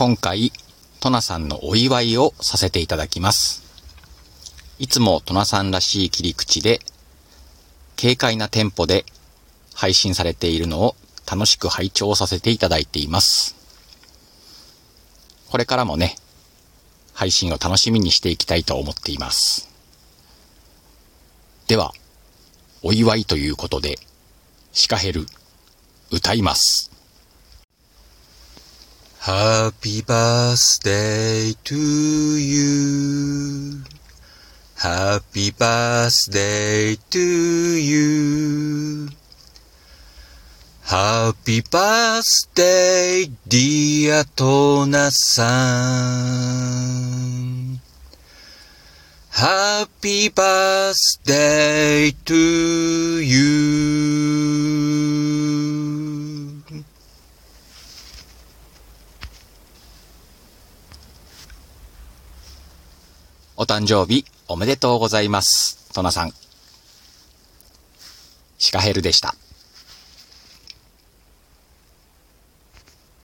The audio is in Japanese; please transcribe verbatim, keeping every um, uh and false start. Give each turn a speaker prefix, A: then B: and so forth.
A: 今回、トナさんのお祝いをさせていただきます。いつもトナさんらしい切り口で、軽快なテンポで配信されているのを楽しく拝聴させていただいています。これからもね、配信を楽しみにしていきたいと思っています。では、お祝いということで、シカヘル、歌います。
B: Happy birthday to you. Happy birthday to you. Happy birthday, dear トナさん. Happy birthday to you.
A: お誕生日おめでとうございます。トナさん。シカヘルでした。